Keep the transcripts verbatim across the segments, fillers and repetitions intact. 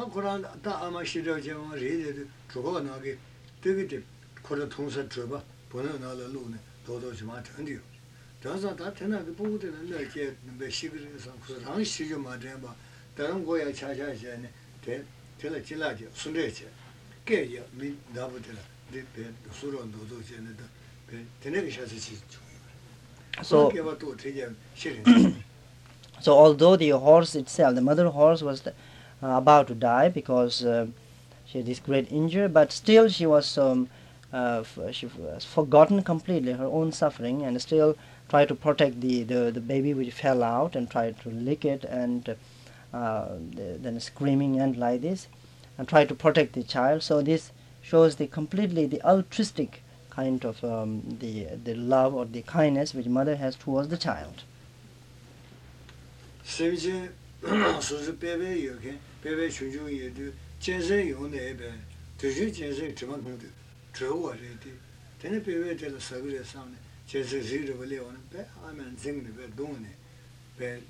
Koran da ama shiro jama re chugo na ge de ge ko de tong sa zhe bo ne na le lu ne do do ji ma chen de zhe sa da ten na ge bu de ne le jie be xi ge san ku rang xi jo ma zhen ba da ren guo ya cha cha xie ne de de le ji la ji sun de xie ge ye mi da bu de de be su ro do do xie ne de be de ne ge xia xi ji so ge ba do de ye xie ren so although the horse itself, the mother horse, was uh, about to die because uh, she had this great injury, but still she was um, uh, f- she was forgotten completely her own suffering and still tried to protect the, the, the baby which fell out and tried to lick it and uh, the, then screaming and like this and tried to protect the child. So this shows the completely the altruistic kind of um, the the love or the kindness which mother has towards the child. Sevje suzu bebe yoke bebe chunju ye de jensen yong ne be de ju jensen zhe man de zhe wo re de tene bebe de la sagu de sam ne jensen zhi de le won be a man zing de be dong ne be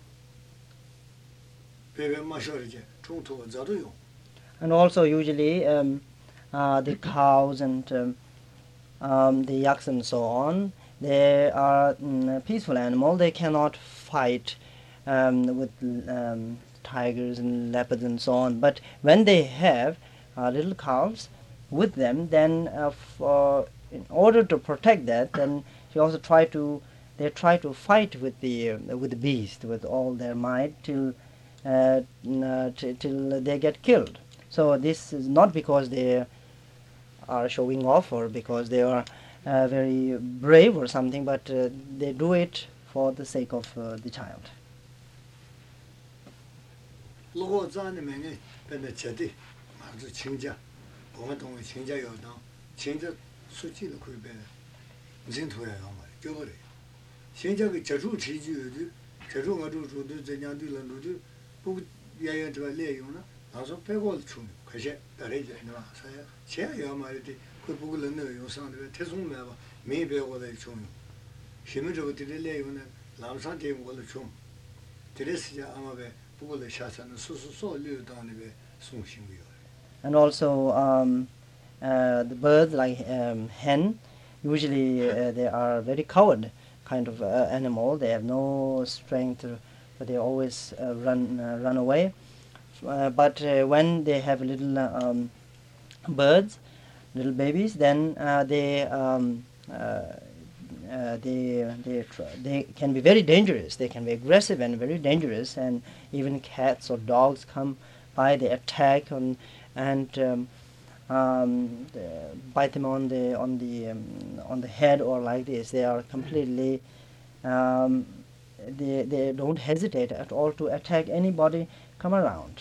bebe ma sho re je chung to za do yong. And also usually um, uh, the cows and um, um, the yaks and so on, they are mm, peaceful animal. They cannot fight um, with um, tigers and leopards and so on. But when they have uh, little calves with them, then uh, for, in order to protect that, then she also try to they try to fight with the uh, with the beast with all their might till uh, uh, t- till they get killed. So this is not because they are showing off or because they are uh, very brave or something, but uh, they do it for the sake of uh, the child. Logo zan ne me ne be ne che de ma zu qing jia wo me dong qing jia yo dang qing jia su ji de ku be jin tu ya ma jiu bo de qing jia ge jia zhu chi ji de jia zhu ma zhu zhu de zhen jiang de le lu de bu yan yan zhe ba le yong na na so pe guo chu ke xie da le jie ne ba sa ya qie ya ma de ku bu gu le ne yong sang de te song me ba me be guo de chu xi me zhe de de le yong ne lam sang de guo le chu de le si ja ama be and also um, uh, the birds like um, hen, usually uh, they are very coward kind of uh, animal. They have no strength, uh, but they always uh, run uh, run away. Uh, but uh, when they have little uh, um, birds, little babies, then uh, they um, uh, Uh, they they they can be very dangerous. They can be aggressive and very dangerous. And even cats or dogs come by, they attack on and um, um, bite them on the on the um, on the head or like this. They are completely um, they they don't hesitate at all to attack anybody come around.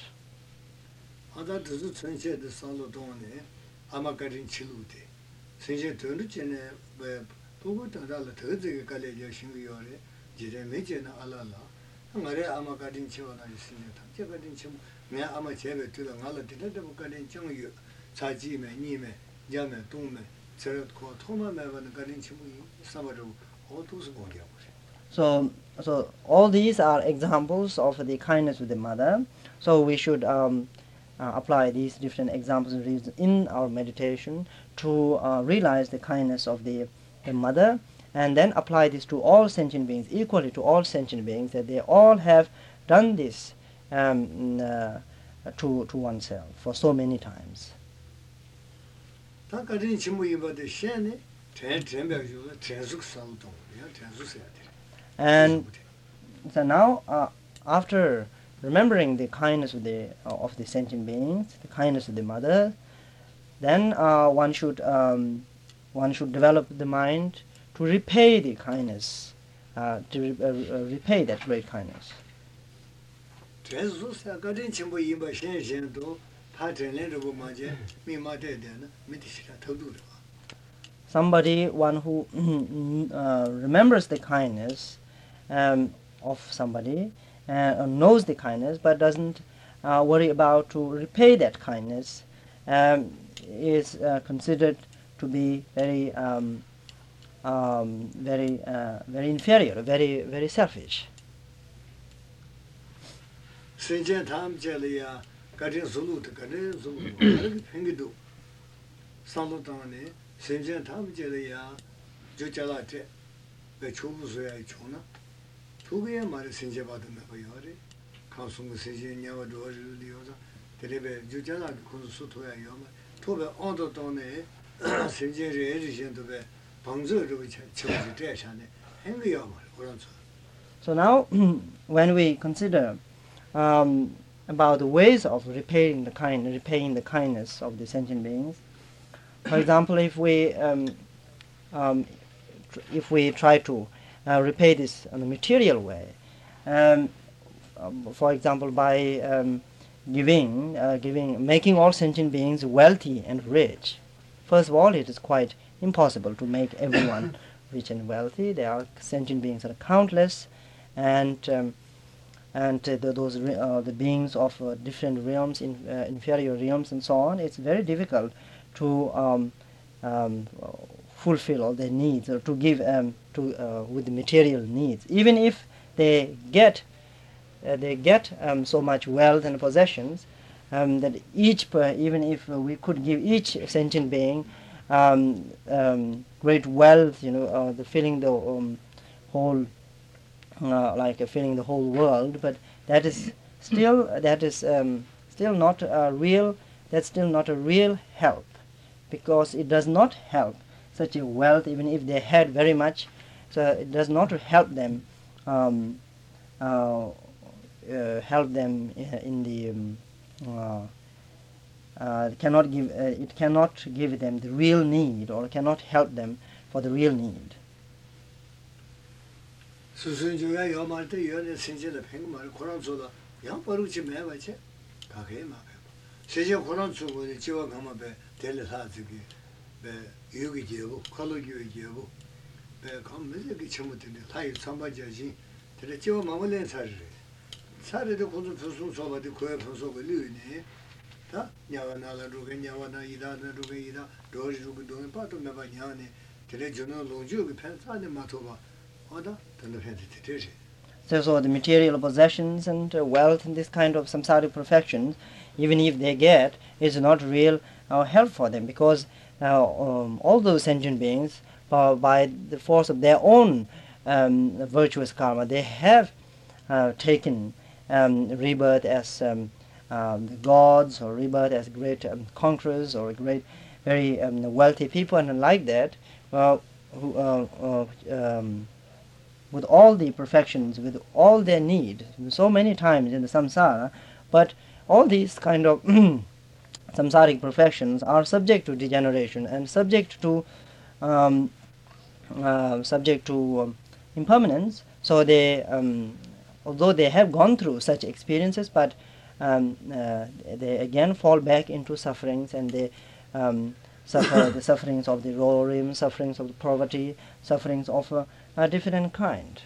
Bugu tanda la tadze ka le ja shingu yo re jire me je na ala la ngare ama ka din chiwa na sin ta je ka din chimu me ama je be tu la ngala de de bu ka din chung yu cha ji me ni me ya me dong me zhe ko to ma me ba na ka din chimu sa ba ru o tu su go ya. So so all these are examples of the kindness of the mother. So we should um, uh, apply these different examples and reasons in our meditation to uh, realize the kindness of the the mother, and then apply this to all sentient beings, equally to all sentient beings, that they all have done this um, uh, to to oneself for so many times. And so now, uh, after remembering the kindness of the uh, of the sentient beings, the kindness of the mother, then uh, one should um, one should develop the mind to repay the kindness, uh, to re- uh, uh, repay that great kindness. Somebody, one who uh, remembers the kindness um, of somebody, uh, knows the kindness, but doesn't uh, worry about to repay that kindness, um, is uh, considered to be very, um, um, very, uh, very inferior, very, very selfish. 가진 솔루트 가진 솔루 가진 팽기도 상도당에 생전 탐제려야 조자라테 그 초부소야 초나 초부에 말에 생제 받으면 거요래 가슴을 세진이와 도리요자 데레베 조자라 그 소토야 요마 토베 언도 돈에 생제를 해주신도베 방저로 처지 대산에 행위야 말 그런서. So now when we consider um, about the ways of repaying the kind repaying the kindness of the sentient beings, for example, if we um, um, tr- if we try to uh, repay this in a material way, um, um, for example, by um, giving, uh, giving, making all sentient beings wealthy and rich. First of all, it is quite impossible to make everyone rich and wealthy. There are sentient beings that are countless, and um, and uh, the, those re- uh, the beings of uh, different realms, in, uh, inferior realms, and so on. It's very difficult to um, um, fulfill all their needs, or to give um, to uh, with the material needs. Even if they get uh, they get um, so much wealth and possessions, um, that each per, even if uh, we could give each sentient being um, um, great wealth, you know, uh, the filling the um, whole uh, like uh, filling the whole world, but that is still that is um, still not a real. That's still not a real help, because it does not help such a wealth, even if they had very much. So it does not help them. Um, uh, uh, help them in the um, uh, uh, cannot give uh, it cannot give them the real need, or cannot help them for the real need. 수순주가 요 말때 요네 생제의 팽말 고란 소다 양바루지 매바체 가게 마베 세제 고란 주고 지와 가마베 델사지기 베 유기 제고 컬러기 제고 베 감메기 처음부터네 타이 삼바자지 델 지와 마물렌 사르 사르도 고주 수순 소바디 고에 분소고 류네 다 냐와나라 루게 냐와나 이다나 루게 이다 도지 루게 도네 파도 매바 냐네 델 저노 롱주기 펜사네 마토바 So, so the material possessions and uh, wealth and this kind of samsaric perfections, even if they get, is not real uh, help for them, because uh, um, all those sentient beings, uh, by the force of their own um, virtuous karma, they have uh, taken um, rebirth as um, um, the gods, or rebirth as great um, conquerors, or great, very um, wealthy people, and like that, uh, who, uh, uh, um, with all the perfections, with all their need, so many times in the samsara, but all these kind of samsaric perfections are subject to degeneration and subject to um, uh, subject to um, impermanence. So they, um, although they have gone through such experiences, but um, uh, they again fall back into sufferings, and they um, suffer the sufferings of the roaring, sufferings of the poverty, sufferings of uh, a different kind.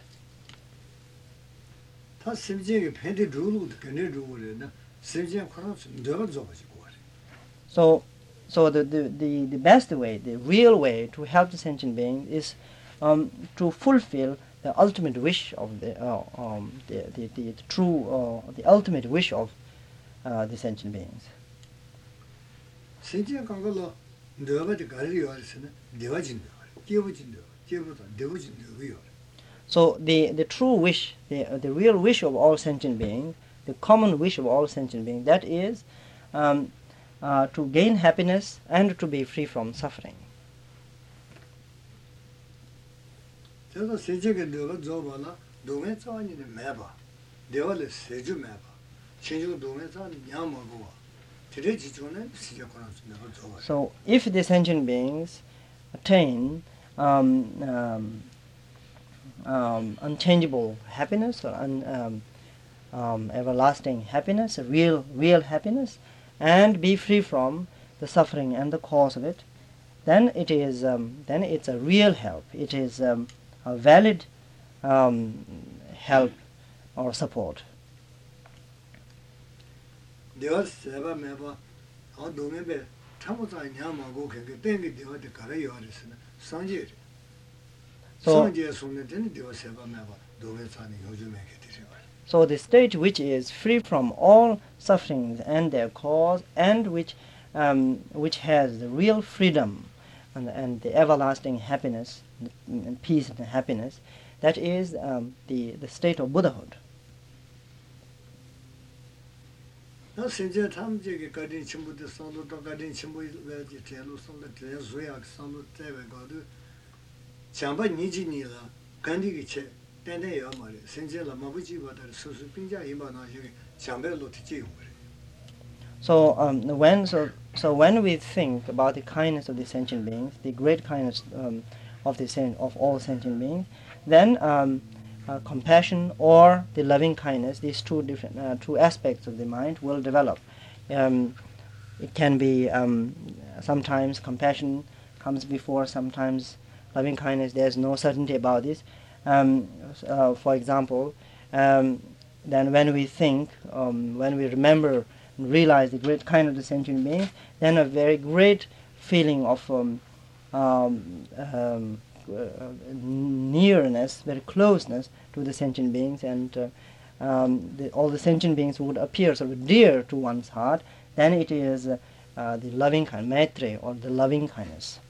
So, so the, the, the, the best way, the real way to help the sentient being is um, to fulfill the ultimate wish of the, uh, um, the, the, the, the true, uh, the ultimate wish of uh, the sentient beings. So the, the true wish, the, uh, the real wish of all sentient beings, the common wish of all sentient beings, that is um, uh, to gain happiness and to be free from suffering. So if the sentient beings attain um, um, um, unchangeable happiness, or un, um, um, everlasting happiness, a real, real happiness, and be free from the suffering and the cause of it, then it is, um, then it's a real help. It is um, a valid um, help or support. So, So the state which is free from all sufferings and their cause, and which um, which has the real freedom and, and the everlasting happiness and peace and happiness, that is um, the, the state of Buddhahood. 나 신제 탐지게 가진 친구들 상도도 가진 친구들 제로 상도 제소야 상도 때베거도 장바 니지니라 간디게 체 땡땡이야 말이 신제라 마부지보다 수수 빙자 이만하게 장배로 티지 So um, when so so when we think about the kindness of the sentient beings, the great kindness um, of the sen- of all sentient beings, then um, uh, compassion or the loving kindness, these two different uh, two aspects of the mind will develop. Um, it can be um, sometimes compassion comes before, sometimes loving kindness. There's no certainty about this. Um, uh, for example, um, then when we think, um, when we remember and realize the great kindness of the sentient being, then a very great feeling of um, um, um, uh, nearness, very closeness to the sentient beings, and uh, um, the, all the sentient beings would appear sort of dear to one's heart. Then it is uh, uh, the loving kind, maitre, or the loving kindness.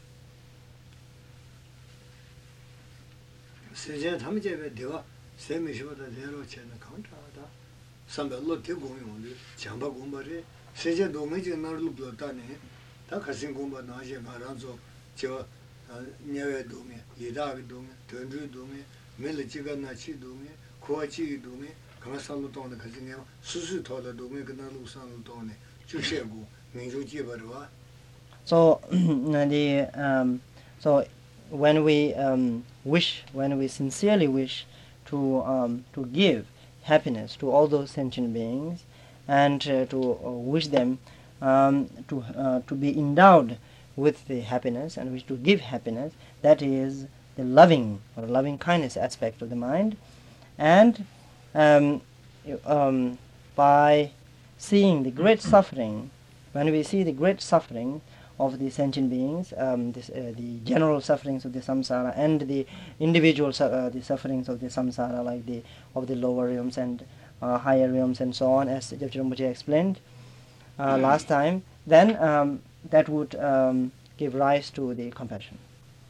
세제 담제베 되와 세미시보다 내로 채는 컨트라다 삼별로 대공용을 장바 공부를 세제 도매지 나를 불렀다네 다 가신 공부 나je 말아서 저 녀외 도매 예다비 도매 전주 도매 멜지가 나치 도매 코아치 도매 가마살로 도네 가진에 수수 토다 도매 그날로 산로 도네 주셰고 민주지 버와 So the um, so when we um, wish, when we sincerely wish to um, to give happiness to all those sentient beings, and uh, to uh, wish them um, to uh, to be endowed with the happiness, and wish to give happiness, that is the loving or loving kindness aspect of the mind. And um, um, by seeing the great suffering, when we see the great suffering of the sentient beings, um, this, uh, the general sufferings of the samsara and the individual su- uh, the sufferings of the samsara, like the of the lower realms and uh, higher realms and so on, as Jebje Rinpoche explained uh, last time, then um, that would um, give rise to the compassion.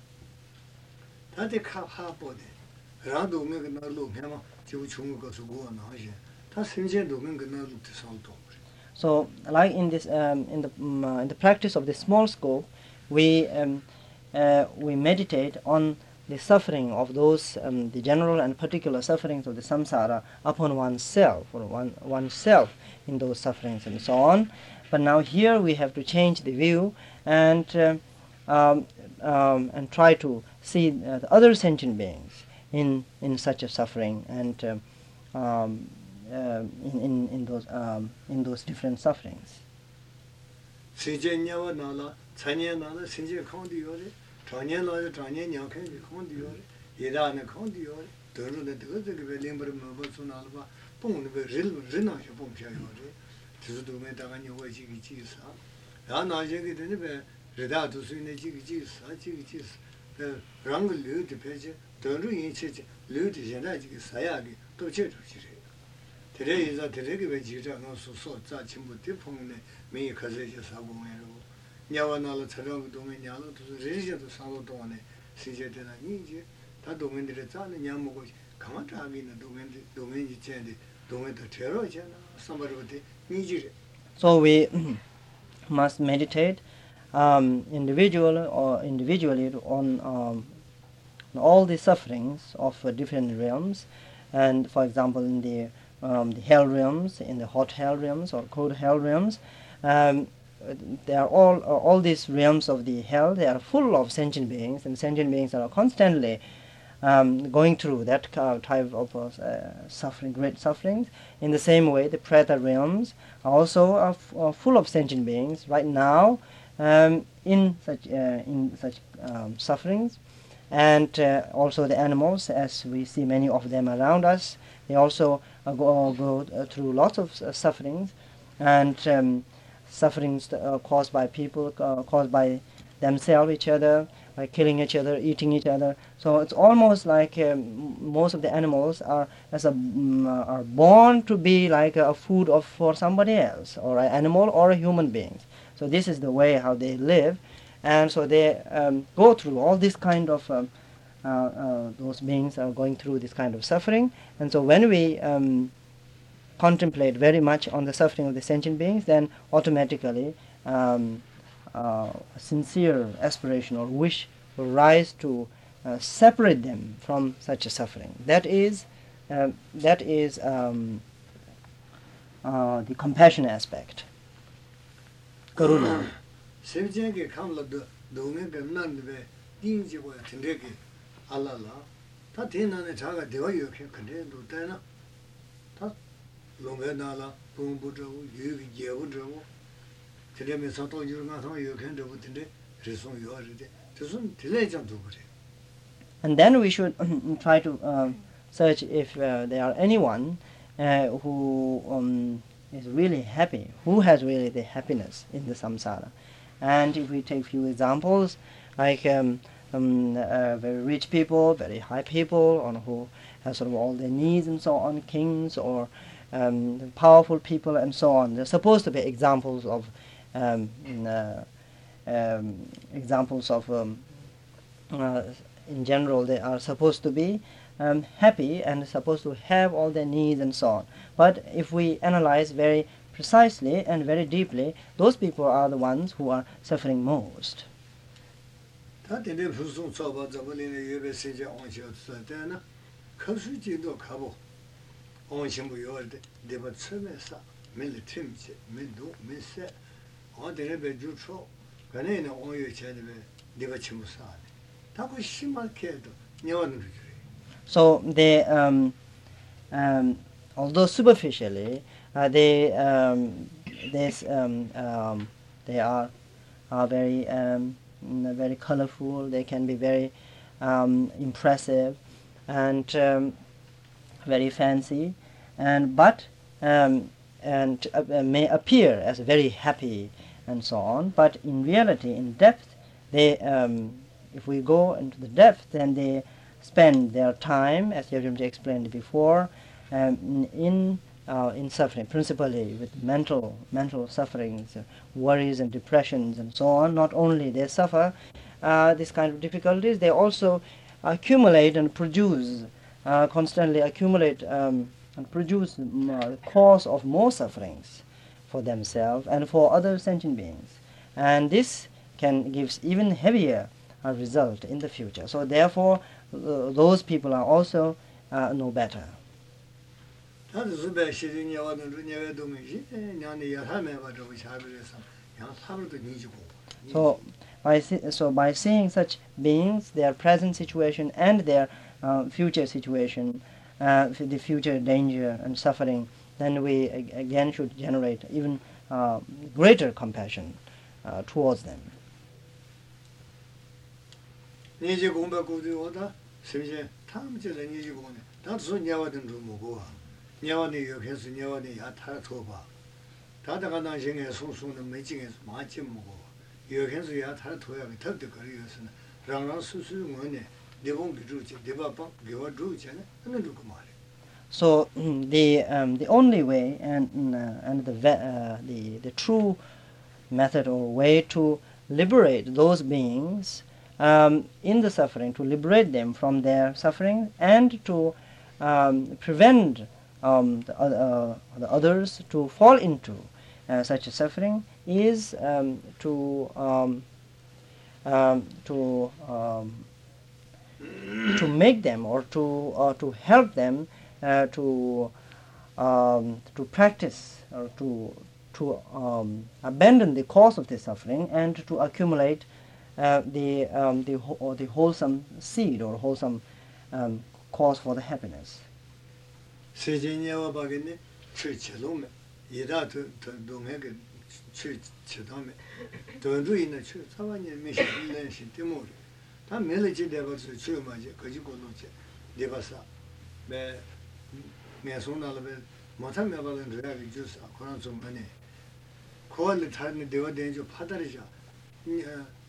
다들 카하보데 라도 메가 나로 해마 지우 중국 가서 고아 나시 다 신제도 메가 나로 살도 So, like in this, um, in the um, uh, in the practice of the small scope, we um, uh, we meditate on the suffering of those, um, the general and particular sufferings of the samsara upon oneself, or one oneself in those sufferings and so on. But now here we have to change the view and uh, um, um, and try to see uh, the other sentient beings in in such a suffering and. Um, um, Uh, in, in, in those um, in those different sufferings. 세제냐와 나라 찬예 나라 신제 콘디요레 찬예 나라 찬예 냥케 콘디요레 예다네 콘디요레 더르네 더르게 벨림버 마버스나르바 뽕네 베릴 르나쇼 뽕샤요레 드즈도메 다가니 오이지기 지사 라나제게 되네 베 레다도 수네 지기 지사 지기 지사 랑글 르드 페제 더르 인체제 르드 제나지기 사야기 또 제주지레 대래이자 대래게 지자노 소소 자 친구 대풍네 미 가세지 사고메로 냐와나로 저런 동에 냐로 또 레지도 사로 동안에 시제되나 이제 다 동면들이 자는 냐먹고 가만하기는 동면들 동면이 제데 동면도 테러잖아 삼바르데 니지레. So we must meditate um, individually or individually on um, on all the sufferings of uh, different realms, and for example in the Um, the hell realms, in the hot hell realms or cold hell realms, um, they are all uh, all these realms of the hell. They are full of sentient beings, and sentient beings are constantly um, going through that type of uh, suffering, great sufferings. In the same way, the preta realms are also are f- are full of sentient beings right now um, in such uh, in such um, sufferings, and uh, also the animals, as we see many of them around us. They also uh, go, go uh, through lots of uh, sufferings, and um, sufferings uh, caused by people, uh, caused by themselves, each other, like killing each other, eating each other. So it's almost like um, most of the animals are as a um, are born to be like a food of for somebody else, or an animal or a human being. So this is the way how they live, and so they um, go through all this kind of um, uh, uh, those beings are going through this kind of suffering. And so when we um, contemplate very much on the suffering of the sentient beings, then automatically um, uh, a sincere aspiration or wish will rise to uh, separate them from such a suffering. That is, uh, that is um, uh, the compassion aspect. Karuna. Sevjenge kamla do dome be nan be dinji go tindege alala ta dinane chaga dewa yoke kande do tana ta longe nala bumbu jo yu yewu jo tinde me sato yurma so yoken do tinde reson yoride tsun tile jam do bure. And then we should try to uh, search if uh, there are anyone uh, who um, is really happy, who has really the happiness in the samsara. And if we take few examples, like um, um, uh, very rich people, very high people, or who have sort of all their needs and so on, kings or um, powerful people and so on. They're supposed to be examples of um, uh, um, examples of um, uh, in general they are supposed to be um, happy and supposed to have all their needs and so on. But if we analyze very precisely and very deeply, those people are the ones who are suffering most. So they, um, um, although superficially, uh, they, um, they, um, um, they are, are very, um, very colorful. They can be very um, impressive and um, very fancy, and but um, and uh, may appear as very happy and so on. But in reality, in depth, they, um, if we go into the depth, then they spend their time, as Yevgeny explained before, um, in uh, in suffering, principally with mental mental sufferings, uh, worries and depressions and so on. Not only they suffer uh, this kind of difficulties, they also accumulate and produce, uh, constantly accumulate um, and produce uh, cause of more sufferings for themselves and for other sentient beings. And this can give even heavier uh, result in the future. So therefore, uh, those people are also uh, no better. So by, so by seeing such beings, their present situation and their uh, future situation, uh, the future danger and suffering, then we again should generate even uh, greater compassion uh, towards them. So the um, the only way and uh, and the uh, the the true method or way to liberate those beings um, in the suffering, to liberate them from their suffering, and to um, prevent um, the, uh, the others to fall into uh, such a suffering, is um, to um, um, to um, to make them or to uh, to help them uh, to um, to practice or to to um, abandon the cause of the suffering and to accumulate uh, the um, the or the wholesome seed or wholesome um, cause for the happiness.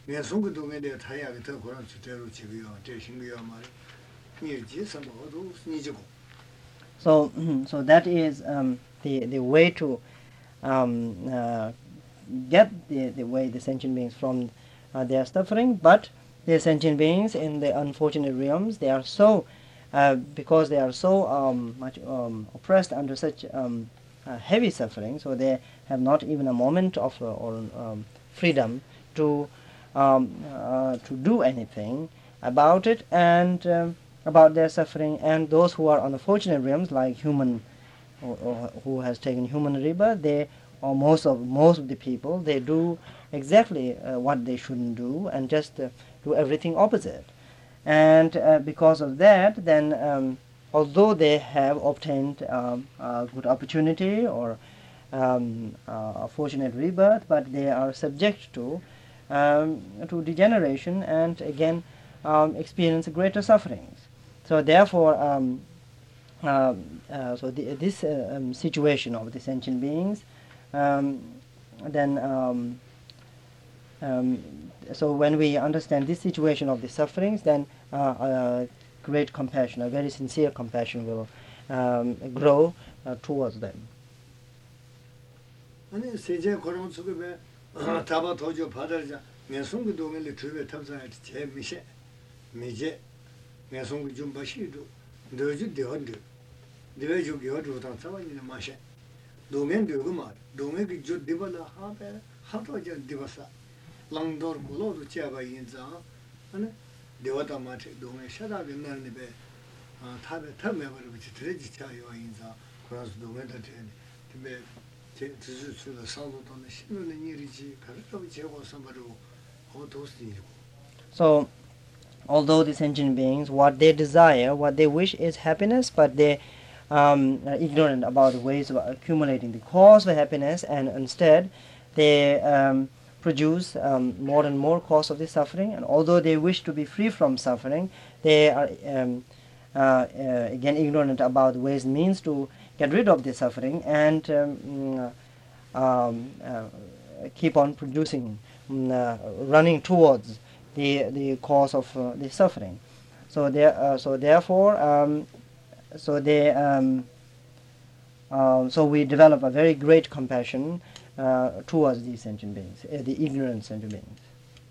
내 손도 내가 타야가 더 그런 주대로 지고요. 대신고요 말이. 니 지선도 니지고. So, so that is um, the the way to um, uh, get the the way the sentient beings from uh, their suffering. But the sentient beings in the unfortunate realms, they are so uh, because they are so um, much um, oppressed under such um, uh, heavy suffering, so they have not even a moment of uh, or um, freedom to um, uh, to do anything about it and um, about their suffering. And those who are on the fortunate realms, like human, or, or who has taken human rebirth, they or most of most of the people, they do exactly uh, what they shouldn't do and just uh, do everything opposite. And uh, because of that, then um, although they have obtained um, a good opportunity or um, uh, a fortunate rebirth, but they are subject to um, to degeneration and again um, experience greater sufferings. So therefore, um, uh, uh, so the, this uh, um, situation of the sentient beings, um, then um, um, so when we understand this situation of the sufferings, then uh, uh, great compassion, a very sincere compassion will um, grow uh, towards them. 아니 세제 그런 속에 다바 도저 받아자 내송도 동을 주에 탑사할 제 미세 미제 내송도 좀 바시도 너주 되었는데 내가 저 겨도 다 잡아니는 마셔 동면 되고 말 동에게 저 되발라 하베 하도 저 되버사 랑도르 고로도 제가 인자 아니 되었다 마트 동에 샤다게 날네 베 타베 탑메버를 비치 드레지 차요 인자 그래서 동에다 되네 근데 So, although the sentient beings, what they desire, what they wish is happiness, but they um, are ignorant about the ways of accumulating the cause of happiness, and instead they um, produce um, more and more cause of the suffering. And although they wish to be free from suffering, they are um, uh, uh, again ignorant about the ways and means to get rid of the suffering and um, um, uh, keep on producing, uh, running towards the the cause of uh, the suffering. So there, uh, so therefore, um, so they, um, uh, so we develop a very great compassion uh, towards these sentient beings, uh, the ignorant sentient beings.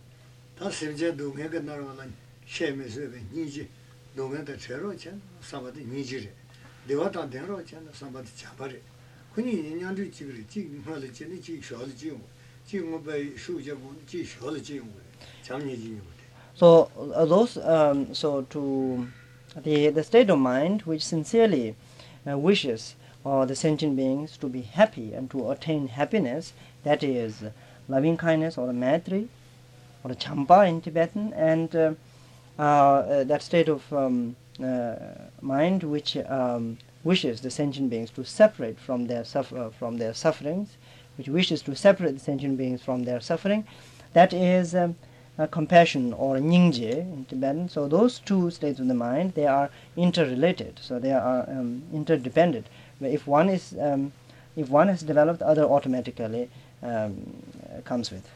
So uh, those um, so to the the state of mind which sincerely uh, wishes or the sentient beings to be happy and to attain happiness, that is loving kindness or a maitri or a champa in Tibetan, and uh, uh, uh, that state of um, uh, mind which um, wishes the sentient beings to separate from their suffer from their sufferings, which wishes to separate the sentient beings from their suffering, that is um, uh, compassion or nyingje in Tibetan. So those two states of the mind, they are interrelated. So they are um, interdependent. If one is um, if one has developed, the other automatically um, comes with.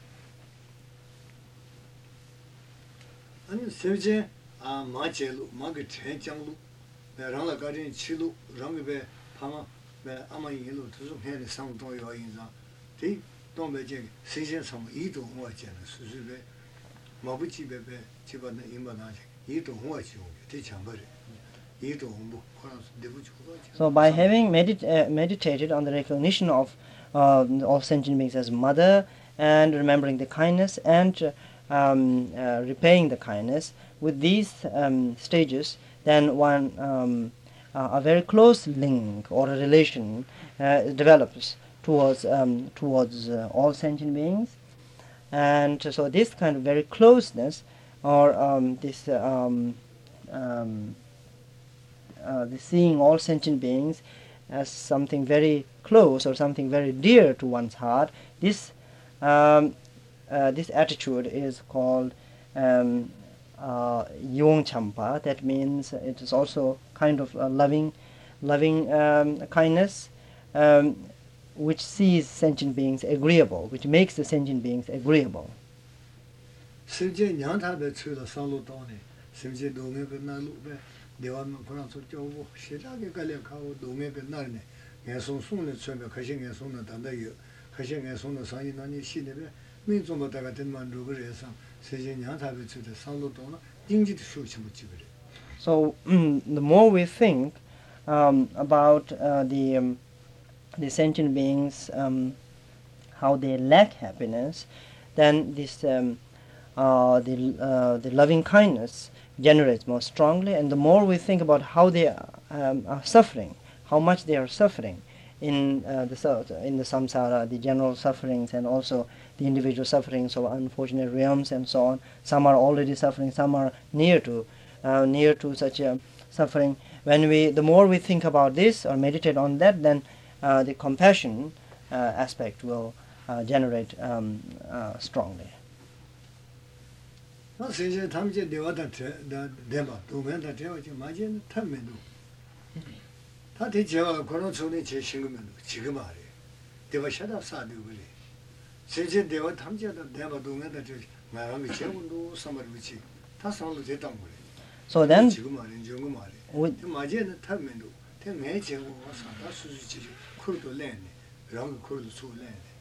아니 세제 아 마제루 마게 대장루 내랑라 가린 치루 랑베 파마 베 아마이로 두좀 해를 상도요 인자 디 동베제 세제 상 이도 홍화제는 수수베 마부지베베 집안에 임바나지 이도 홍화지 디 참버리 이도 홍보 코라스 데부지 So by having medit uh, meditated on the recognition of uh, of sentient beings as mother and remembering the kindness and uh, Um, uh, repaying the kindness, with these um, stages, then one um, uh, a very close link or a relation uh, develops towards um, towards uh, all sentient beings, and so this kind of very closeness or um, this um, um, uh, the seeing all sentient beings as something very close or something very dear to one's heart, this um, Uh, this attitude is called um, uh, Yung Champa. That means it is also kind of a loving, loving um, kindness, um, which sees sentient beings agreeable, which makes the sentient beings agreeable. 심지어 냥타베 추도 상로도네 심지어 동해베 나루베 대화면 그런서 쪼고 시작에 갈려 가고 동해베 나르네 예송송의 처음에 가신 예송의 단다요 가신 예송의 상인하니 시내베 민족마다가 된만 루그에서 세계 냥타베 추도 상로도나 인지도 수치 못 지그래. So mm, the more we think um, about uh, the um, the sentient beings, um, how they lack happiness, then this um, uh, the uh, the loving kindness generates more strongly. And the more we think about how they um, are suffering, how much they are suffering in uh, the sa- in the samsara, the general sufferings, and also the individual sufferings of unfortunate realms and so on. Some are already suffering, some are near to uh, near to such a suffering. When we, the more we think about this or meditate on that, then uh, the compassion uh, aspect will uh, generate um, uh, strongly. 나 세제 탐제 대화다 대바 도면다 대화지 맞은 탐면도 다 대제와 그런 소리 제 신금면도 지금 말이에요. 대화 샤다 사도 그래. 세제 대화 탐제다 대바 도면다 저 마음이 제군도 삼아르지 다 상로 됐단 거래. So then, 지금 말이에요. 지금 말이에요. with, 맞은 탐면도 대 매제고 사다 수수지 쿨도 내네. 랑 쿨도 수내네.